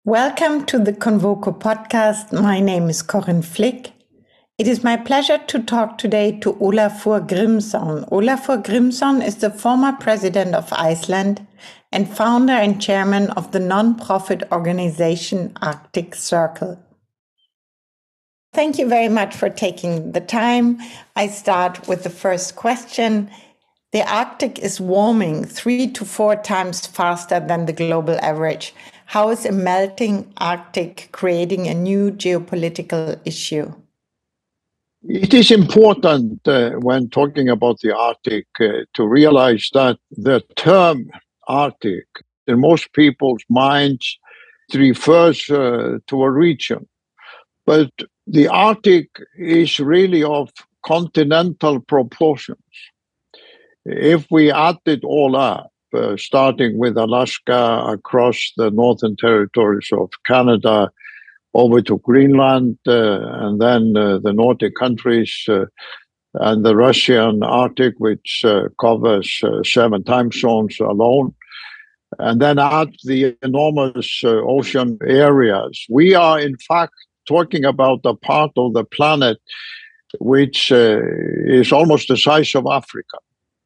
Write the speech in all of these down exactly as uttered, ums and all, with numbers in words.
Welcome to the Convoco podcast. My name is Corinne Flick. It is my pleasure to talk today to Ólafur Grímsson. Ólafur Grímsson is the former president of Iceland and founder and chairman of the non-profit organization Arctic Circle. Thank you very much for taking the time. I start with the first question. The Arctic is warming three to four times faster than the global average. How is a melting Arctic creating a new geopolitical issue? It is important uh, when talking about the Arctic uh, to realize that the term Arctic in most people's minds refers uh, to a region. But the Arctic is really of continental proportions. If we add it all up, uh, starting with Alaska across the northern territories of Canada, over to Greenland, uh, and then uh, the Nordic countries, uh, and the Russian Arctic, which uh, covers uh, seven time zones alone, and then add the enormous uh, ocean areas. We are, in fact, talking about a part of the planet which uh, is almost the size of Africa.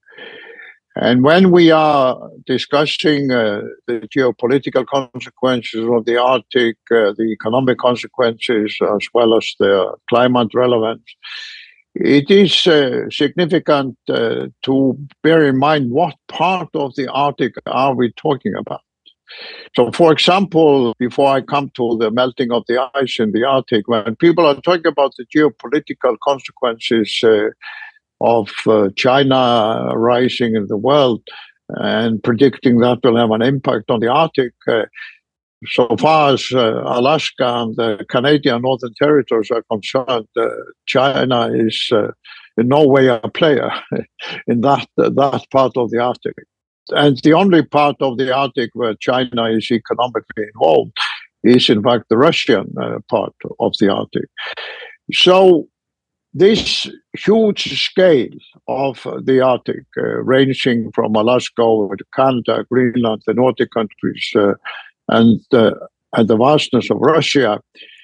And when we are discussing uh, the geopolitical consequences of the Arctic, uh, the economic consequences, as well as the climate relevance, it is uh, significant uh, to bear in mind what part of the Arctic are we talking about. So, for example, before I come to the melting of the ice in the Arctic, when people are talking about the geopolitical consequences uh, of uh, China rising in the world and predicting that will have an impact on the Arctic, uh, so far as uh, Alaska and the Canadian Northern Territories are concerned, uh, China is uh, in no way a player in that, uh, that part of the Arctic. And the only part of the Arctic where China is economically involved is, in fact, the Russian uh, part of the Arctic. So this huge scale of the Arctic, uh, ranging from Alaska over to Canada, Greenland, the Nordic countries, uh, and, uh, and the vastness of Russia,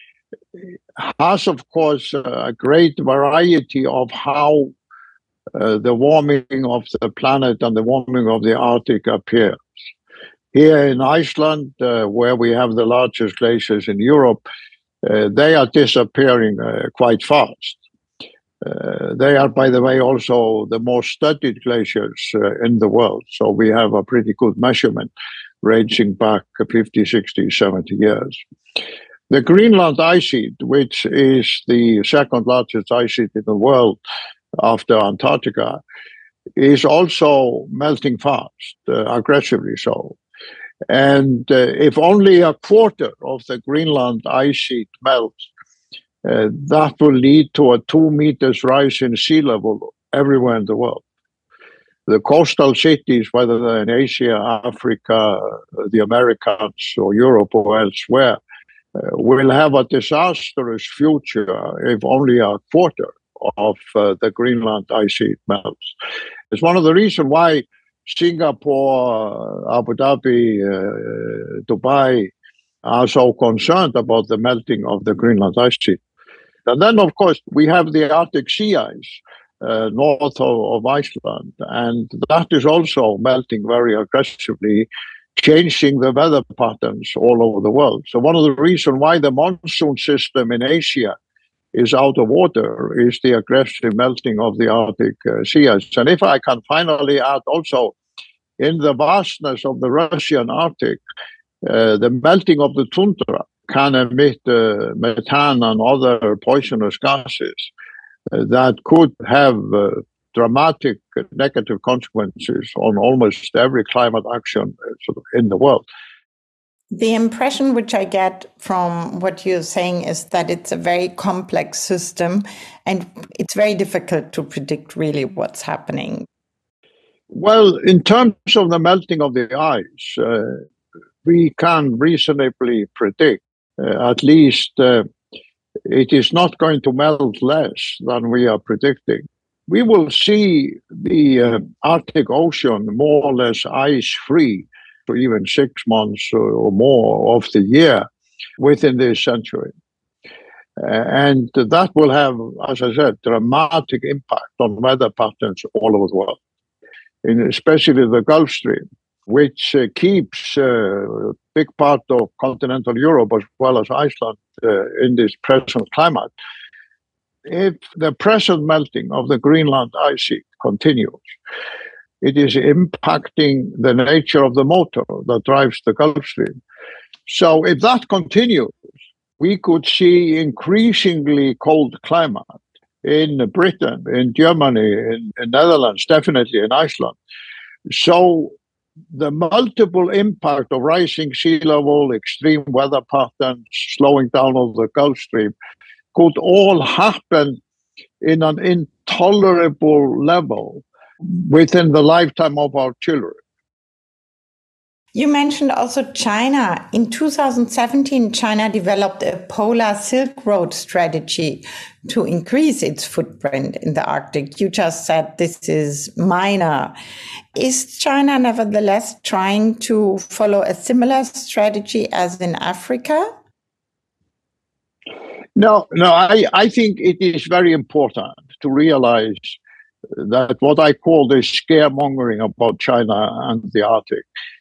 has, of course, a great variety of how uh, the warming of the planet and the warming of the Arctic appears. Here in Iceland, uh, where we have the largest glaciers in Europe, uh, they are disappearing uh, quite fast. Uh, they are, by the way, also the most studied glaciers uh, in the world. So we have a pretty good measurement ranging back fifty, sixty, seventy years. The Greenland ice sheet, which is the second largest ice sheet in the world after Antarctica, is also melting fast, uh, aggressively so. And uh, if only a quarter of the Greenland ice sheet melts, Uh, that will lead to a two meters rise in sea level everywhere in the world. The coastal cities, whether they're in Asia, Africa, the Americas, or Europe, or elsewhere, uh, will have a disastrous future if only a quarter of uh, the Greenland ice sheet melts. It's one of the reasons why Singapore, Abu Dhabi, uh, Dubai are so concerned about the melting of the Greenland ice sheet. And then, of course, we have the Arctic sea ice uh, north of, of Iceland, and that is also melting very aggressively, changing the weather patterns all over the world. So one of the reasons why the monsoon system in Asia is out of order is the aggressive melting of the Arctic uh, sea ice. And if I can finally add also, in the vastness of the Russian Arctic, uh, the melting of the tundra can emit uh, methane and other poisonous gases uh, that could have uh, dramatic negative consequences on almost every climate action uh, sort of in the world. The impression which I get from what you're saying is that it's a very complex system and it's very difficult to predict really what's happening. Well, in terms of the melting of the ice, uh, we can reasonably predict Uh, at least uh, it is not going to melt less than we are predicting. We will see the uh, Arctic Ocean more or less ice-free for even six months or more of the year. within this century. Uh, and that will have, as I said, dramatic impact on weather patterns all over the world, in especially the Gulf Stream, which uh, keeps uh, a big part of continental Europe as well as Iceland uh, in this present climate. If the present melting of the Greenland ice sheet continues, it is impacting the nature of the motor that drives the Gulf Stream. So if that continues, we could see increasingly cold climate in Britain, in Germany, in the Netherlands, definitely in Iceland. So the multiple impact of rising sea level, extreme weather patterns, slowing down of the Gulf Stream could all happen in an intolerable level within the lifetime of our children. You mentioned also China. In two thousand seventeen, China developed a polar Silk Road strategy to increase its footprint in the Arctic. You just said this is minor. Is China nevertheless trying to follow a similar strategy as in Africa? No, no, I, I think it is very important to realize that what I call the scaremongering about China and the Arctic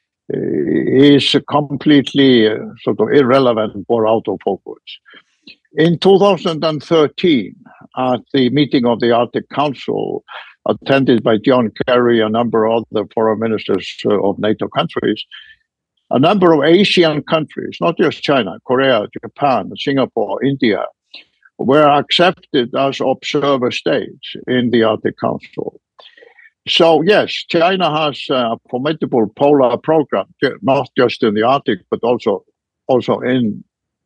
is completely uh, sort of irrelevant or out of focus. In two thousand thirteen, at the meeting of the Arctic Council, attended by John Kerry, a number of other foreign ministers of NATO countries, a number of Asian countries, not just China, Korea, Japan, Singapore, India, were accepted as observer states in the Arctic Council. So yes, China has a formidable polar program, not just in the Arctic, but also also in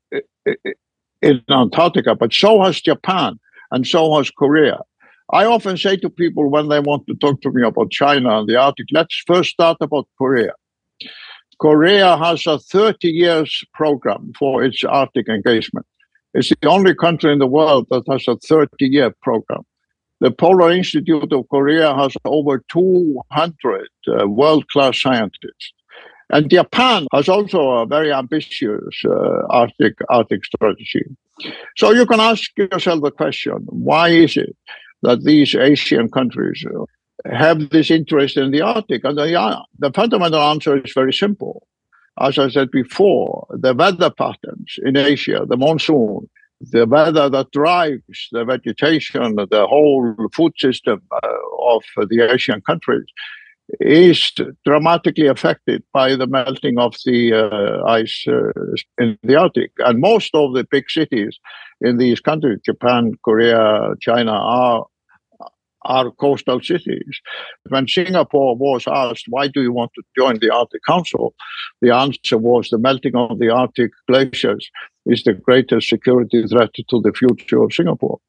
in Antarctica. But so has Japan, and so has Korea. I often say to people when they want to talk to me about China and the Arctic, let's first start about Korea. Korea has a thirty years program for its Arctic engagement. It's the only country in the world that has a thirty year program. The Polar Institute of Korea has over two hundred uh, world-class scientists. And Japan has also a very ambitious uh, Arctic, Arctic strategy. So you can ask yourself the question, why is it that these Asian countries have this interest in the Arctic? And the, the fundamental answer is very simple. As I said before, the weather patterns in Asia, the monsoon, the weather that drives the vegetation, the whole food system uh, of the Asian countries is dramatically affected by the melting of the uh, ice uh, in the Arctic. And most of the big cities in these countries, Japan, Korea, China, are are coastal cities. When Singapore was asked, why do you want to join the Arctic Council? The answer was the melting of the Arctic glaciers is the greatest security threat to the future of Singapore.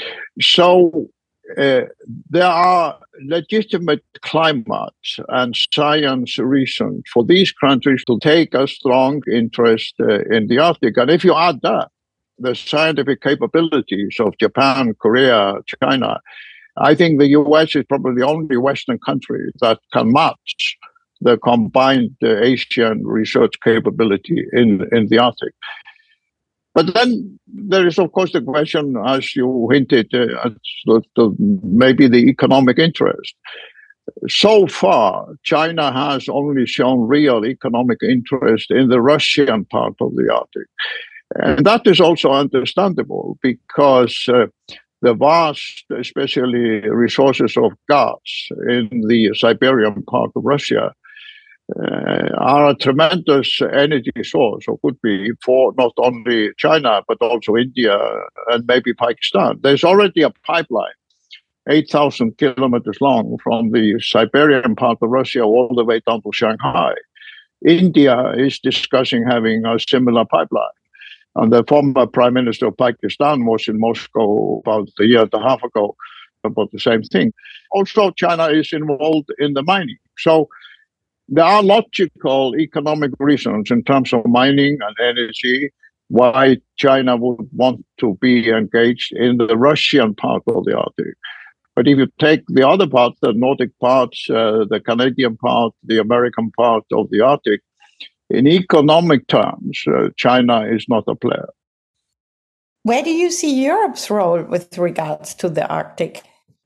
So uh, there are legitimate climate and science reasons for these countries to take a strong interest uh, in the Arctic. And if you add that, the scientific capabilities of Japan, Korea, China, I think the U S is probably the only Western country that can match the combined uh, Asian research capability in, in the Arctic. But then there is, of course, the question, as you hinted, uh, at the, maybe the economic interest. So far, China has only shown real economic interest in the Russian part of the Arctic. And that is also understandable because uh, the vast, especially resources of gas in the Siberian part of Russia uh, are a tremendous energy source, or could be, for not only China, but also India and maybe Pakistan. There's already a pipeline, eight thousand kilometers long, from the Siberian part of Russia all the way down to Shanghai. India is discussing having a similar pipeline. And the former Prime Minister of Pakistan was in Moscow about a year and a half ago about the same thing. Also, China is involved in the mining. So there are logical economic reasons in terms of mining and energy why China would want to be engaged in the Russian part of the Arctic. But if you take the other part, the Nordic parts, uh, the Canadian part, the American part of the Arctic, in economic terms, uh, China is not a player. Where do you see Europe's role with regards to the Arctic?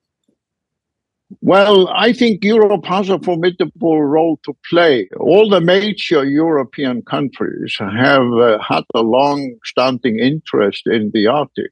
Well, I think Europe has a formidable role to play. All the major European countries have uh, had a long-standing interest in the Arctic.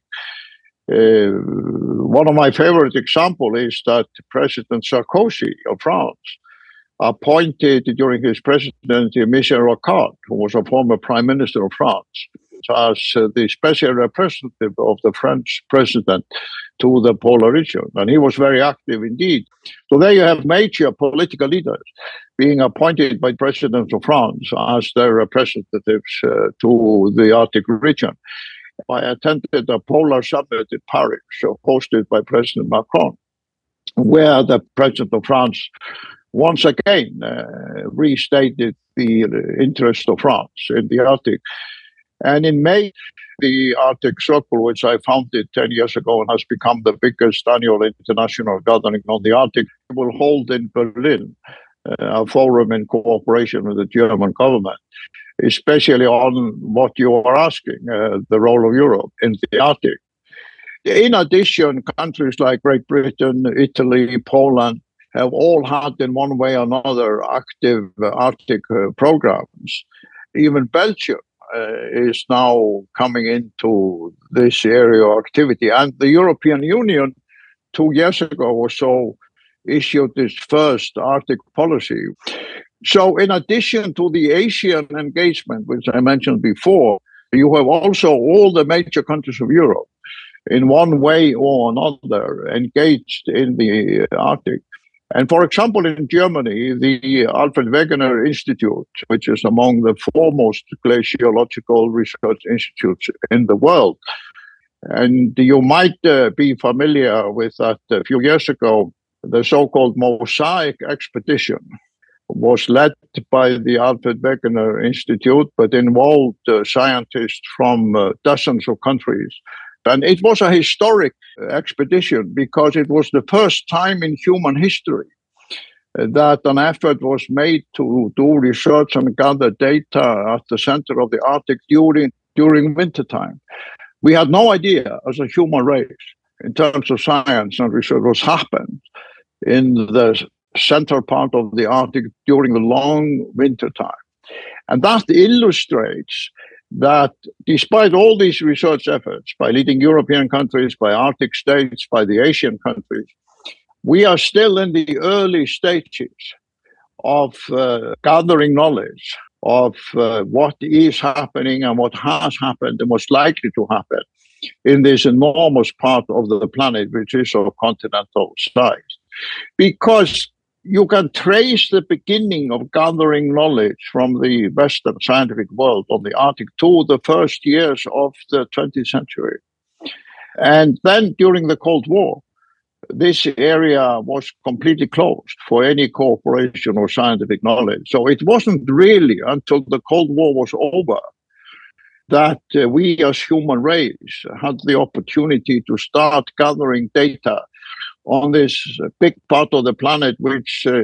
Uh, one of my favorite examples is that President Sarkozy of France appointed during his presidency Michel Rocard, who was a former prime minister of France, as uh, the special representative of the French president to the polar region. And he was very active indeed. So there you have major political leaders being appointed by presidents of France as their representatives uh, to the Arctic region. I attended a polar summit in Paris, so hosted by President Macron, where the president of France once again uh, restated the interest of France in the Arctic. And in May, the Arctic Circle, which I founded ten years ago and has become the biggest annual international gathering on the Arctic, will hold in Berlin uh, a forum in cooperation with the German government, especially on what you are asking, uh, the role of Europe in the Arctic. In addition, countries like Great Britain, Italy, Poland have all had in one way or another active uh, Arctic uh, programs. Even Belgium Uh, is now coming into this area of activity. And the European Union, two years ago or so, issued its first Arctic policy. So in addition to the Asian engagement, which I mentioned before, you have also all the major countries of Europe, in one way or another, engaged in the Arctic. And for example, in Germany, the Alfred Wegener Institute, which is among the foremost glaciological research institutes in the world. And you might uh, be familiar with that a few years ago, the so-called Mosaic expedition was led by the Alfred Wegener Institute, but involved uh, scientists from uh, dozens of countries. And it was a historic expedition because it was the first time in human history that an effort was made to do research and gather data at the center of the Arctic during, during wintertime. We had no idea as a human race in terms of science and research what happened in the center part of the Arctic during the long wintertime. And that illustrates that despite all these research efforts by leading European countries, by Arctic states, by the Asian countries, we are still in the early stages of uh, gathering knowledge of uh, what is happening and what has happened and what's likely to happen in this enormous part of the planet, which is of continental size. Because you can trace the beginning of gathering knowledge from the Western scientific world on the Arctic to the first years of the twentieth century. And then during the Cold War, this area was completely closed for any cooperation or scientific knowledge. So it wasn't really until the Cold War was over that uh, we as human race had the opportunity to start gathering data on this big part of the planet, which uh,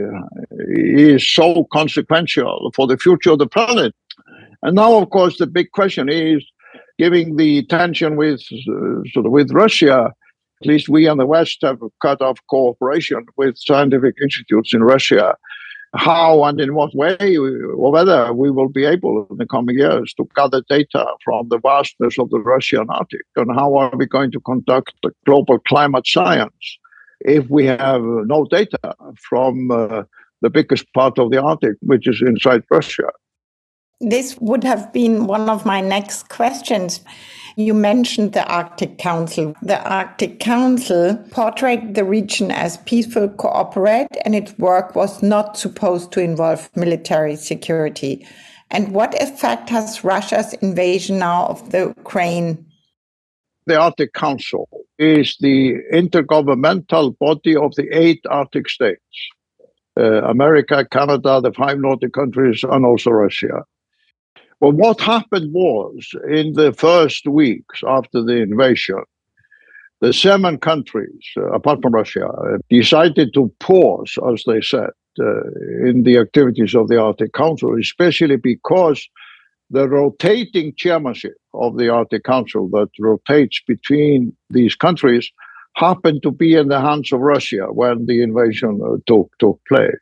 is so consequential for the future of the planet. And now, of course, the big question is, given the tension with uh, sort of with Russia, at least we in the West have cut off cooperation with scientific institutes in Russia. How and in what way, or whether we will be able in the coming years to gather data from the vastness of the Russian Arctic, and how are we going to conduct the global climate science if we have no data from uh, the biggest part of the Arctic, which is inside Russia. This would have been one of my next questions. You mentioned the Arctic Council. The Arctic Council portrayed the region as peaceful, cooperate, and its work was not supposed to involve military security. And what effect has Russia's invasion now of the Ukraine? The Arctic Council is the intergovernmental body of the eight Arctic states, uh, America, Canada, the five Nordic countries, and also Russia. Well, what happened was, in the first weeks after the invasion, the seven countries, uh, apart from Russia, uh, decided to pause, as they said, uh, in the activities of the Arctic Council, especially because the rotating chairmanship of the Arctic Council that rotates between these countries happened to be in the hands of Russia when the invasion uh, took, took place.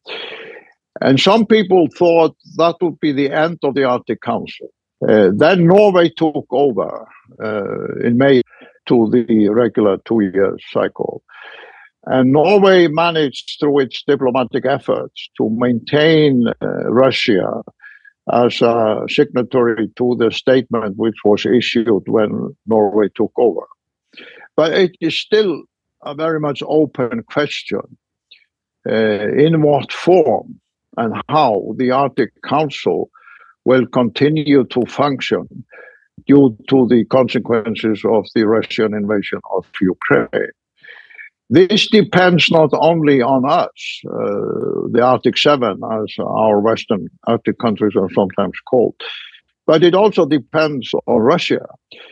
And some people thought that would be the end of the Arctic Council. Uh, then Norway took over uh, in May to the regular two-year cycle. And Norway managed through its diplomatic efforts to maintain uh, Russia as a signatory to the statement which was issued when Norway took over. But it is still a very much open question uh, in what form and how the Arctic Council will continue to function due to the consequences of the Russian invasion of Ukraine. This depends not only on us, uh, the Arctic Seven, as our Western Arctic countries are sometimes called, but it also depends on Russia.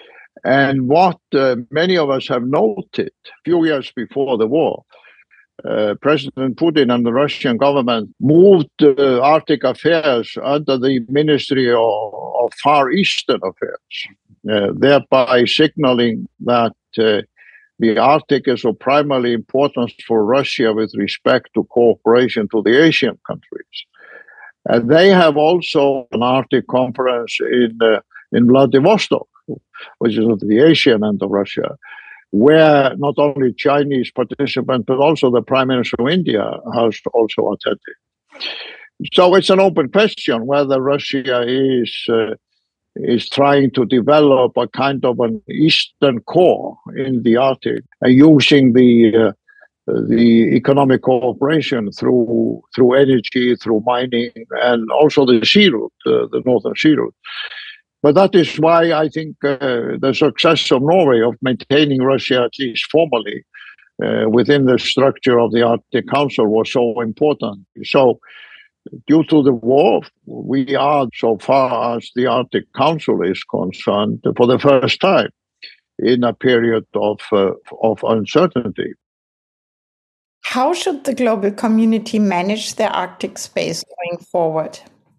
And what uh, many of us have noted a few years before the war, uh, President Putin and the Russian government moved uh, Arctic affairs under the Ministry of, of Far Eastern Affairs, uh, thereby signaling that uh, the Arctic is of primary importance for Russia with respect to cooperation to the Asian countries. And they have also an Arctic conference in, uh, in Vladivostok, which is at the Asian end of Russia, where not only Chinese participants, but also the Prime Minister of India has also attended. So it's an open question whether Russia is uh, is trying to develop a kind of an eastern core in the Arctic, uh, using the uh, the economic cooperation through through energy, through mining, and also the sea route, uh, the northern sea route. But that is why I think uh, the success of Norway of maintaining Russia, at least formally, uh, within the structure of the Arctic Council was so important. So, due to the war, we are, so far as the Arctic Council is concerned, for the first time in a period of uh, of uncertainty. How should the global community manage the Arctic space going forward?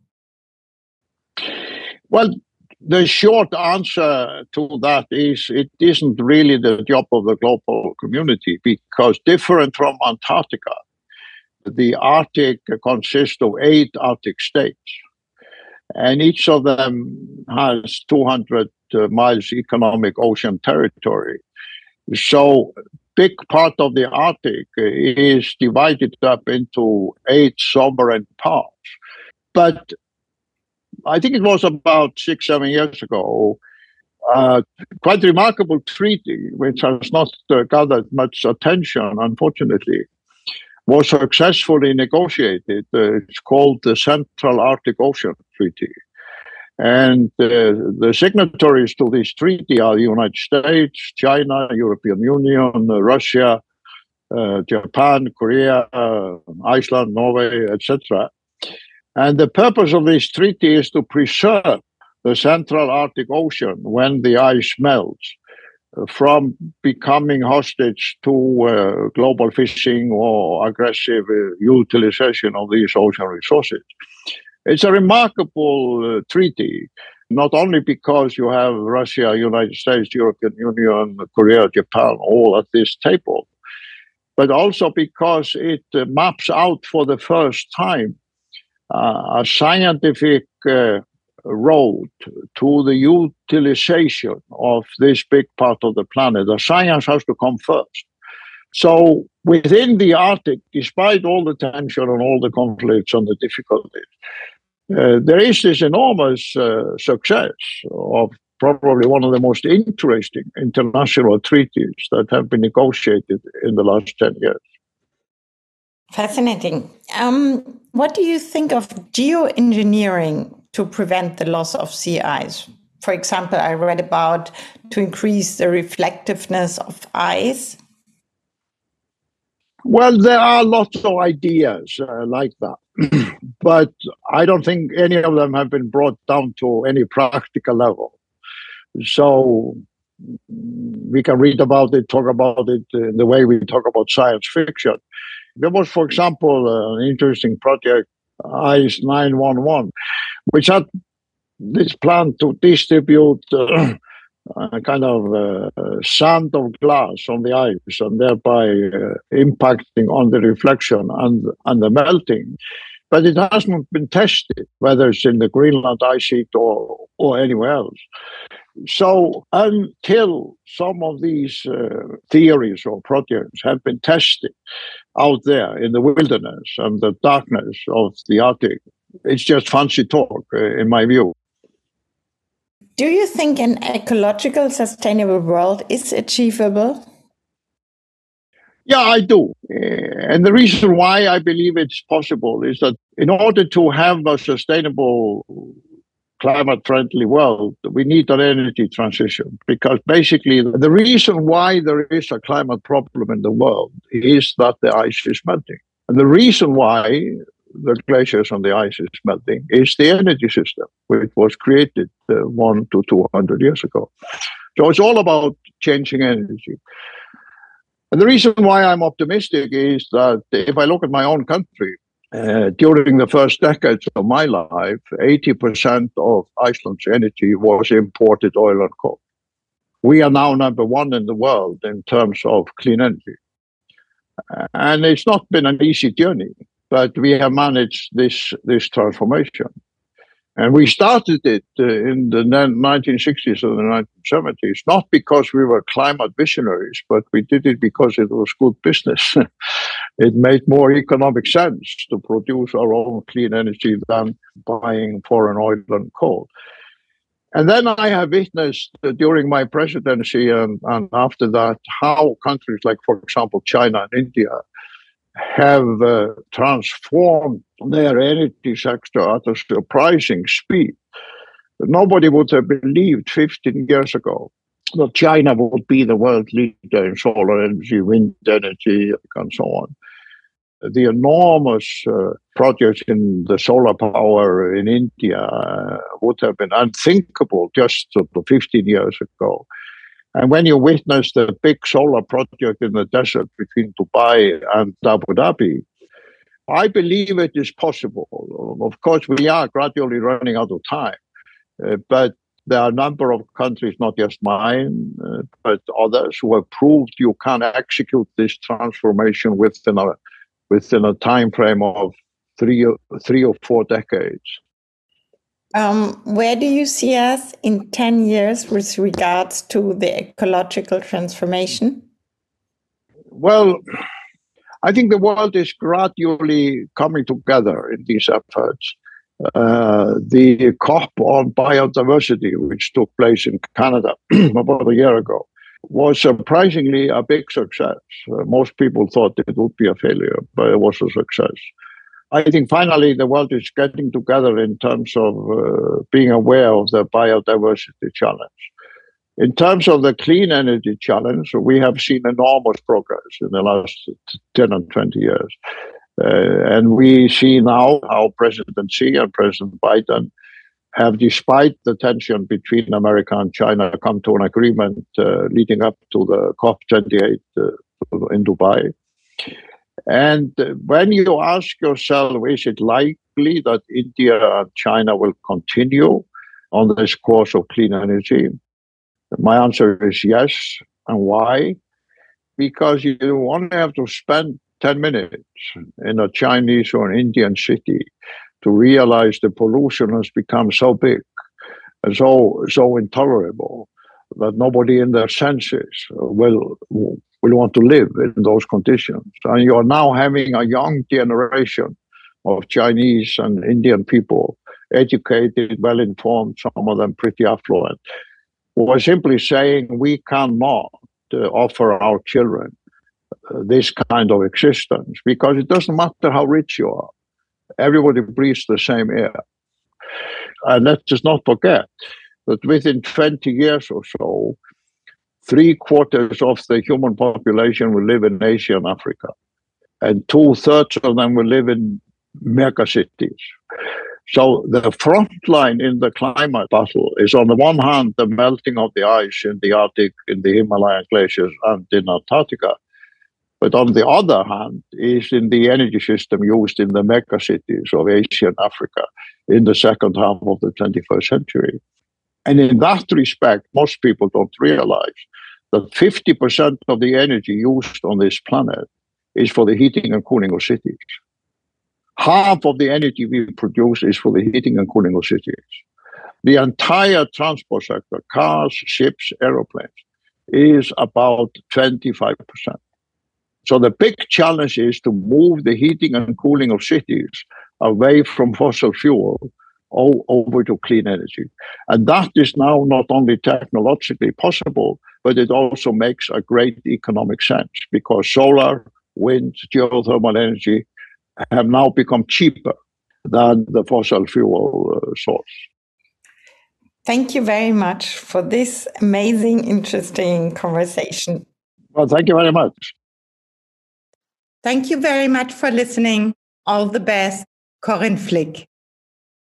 Well, the short answer to that is it isn't really the job of the global community, because different from Antarctica, the Arctic consists of eight Arctic states, and each of them has two hundred uh, miles economic ocean territory. So big part of the Arctic is divided up into eight sovereign parts. But I think it was about six, seven years ago, uh, quite remarkable treaty, which has not uh, gathered much attention, unfortunately, was successfully negotiated. Uh, it's called the Central Arctic Ocean Treaty. And uh, the signatories to this treaty are the United States, China, European Union, uh, Russia, uh, Japan, Korea, uh, Iceland, Norway, et cetera. And the purpose of this treaty is to preserve the Central Arctic Ocean when the ice melts from becoming hostage to uh, global fishing or aggressive uh, utilization of these ocean resources. It's a remarkable uh, treaty, not only because you have Russia, United States, European Union, Korea, Japan, all at this table, but also because it uh, maps out for the first time uh, a scientific uh, road to the utilization of this big part of the planet. The science has to come first. So within the Arctic, despite all the tension and all the conflicts and the difficulties, uh, there is this enormous uh, success of probably one of the most interesting international treaties that have been negotiated in the last ten years. Fascinating. Um, what do you think of geoengineering to prevent the loss of sea ice? For example, I read about to increase the reflectiveness of ice. Well, there are lots of ideas uh, like that, but I don't think any of them have been brought down to any practical level. So we can read about it, talk about it in the way we talk about science fiction. There was, for example, an interesting project, ICE nine one one, which had this plan to distribute uh, a kind of uh, sand of glass on the ice and thereby uh, impacting on the reflection and, and the melting. But it hasn't been tested, whether it's in the Greenland ice sheet or, or anywhere else. So until some of these uh, theories or projects have been tested out there in the wilderness and the darkness of the Arctic, it's just fancy talk, uh, in my view. Do you think an ecological, sustainable world is achievable? Yeah, I do. And the reason why I believe it's possible is that in order to have a sustainable, climate-friendly world, we need an energy transition. Because basically, the reason why there is a climate problem in the world is that the ice is melting. And the reason why the glaciers on the ice is melting is the energy system, which was created uh, one to two hundred years ago. So it's all about changing energy. And the reason why I'm optimistic is that if I look at my own country, uh, during the first decades of my life, eighty percent of Iceland's energy was imported oil and coal. We are now number one in the world in terms of clean energy. And it's not been an easy journey, but we have managed this, this transformation. And we started it uh, in the nineteen sixties and the nineteen seventies, not because we were climate visionaries, but we did it because it was good business. It made more economic sense to produce our own clean energy than buying foreign oil and coal. And then I have witnessed uh, during my presidency and, and after that how countries like, for example, China and India have uh, transformed their energy sector at a surprising speed. Nobody would have believed fifteen years ago that China would be the world leader in solar energy, wind energy, and so on. The enormous uh, projects in the solar power in India uh, would have been unthinkable just fifteen years ago. And when you witness the big solar project in the desert between Dubai and Abu Dhabi, I believe it is possible. Of course, we are gradually running out of time, uh, but there are a number of countries, not just mine, uh, but others, who have proved you can execute this transformation within a within a time frame of three, three or four decades. Um, where do you see us in ten years with regards to the ecological transformation? Well, I think the world is gradually coming together in these efforts. Uh, the COP on biodiversity, which took place in Canada about a year ago, was surprisingly a big success. Uh, most people thought it would be a failure, but it was a success. I think finally the world is getting together in terms of uh, being aware of the biodiversity challenge. In terms of the clean energy challenge, we have seen enormous progress in the last ten and twenty years. Uh, and we see now how President Xi and President Biden have, despite the tension between America and China, come to an agreement uh, leading up to the COP twenty-eight uh, in Dubai. And when you ask yourself, is it likely that India and China will continue on this course of clean energy? My answer is yes. And why? Because you only have to spend ten minutes in a Chinese or an Indian city to realize the pollution has become so big and so, so intolerable that nobody in their senses will will want to live in those conditions. And you are now having a young generation of Chinese and Indian people, educated, well-informed, some of them pretty affluent, who are simply saying we cannot uh, offer our children uh, this kind of existence because it doesn't matter how rich you are. Everybody breathes the same air. And let's just not forget that within twenty years or so, three quarters of the human population will live in Asia and Africa, and two thirds of them will live in mega cities. So the front line in the climate battle is, on the one hand, the melting of the ice in the Arctic, in the Himalayan glaciers, and in Antarctica. But on the other hand, is in the energy system used in the megacities of Asia and Africa in the second half of the twenty-first century. And in that respect, most people don't realize that fifty percent of the energy used on this planet is for the heating and cooling of cities. Half of the energy we produce is for the heating and cooling of cities. The entire transport sector, cars, ships, aeroplanes, is about twenty-five percent. So the big challenge is to move the heating and cooling of cities away from fossil fuel over to clean energy. And that is now not only technologically possible, but it also makes a great economic sense because solar, wind, geothermal energy have now become cheaper than the fossil fuel uh, source. Thank you very much for this amazing, interesting conversation. Well, thank you very much. Thank you very much for listening. All the best, Corinne Flick.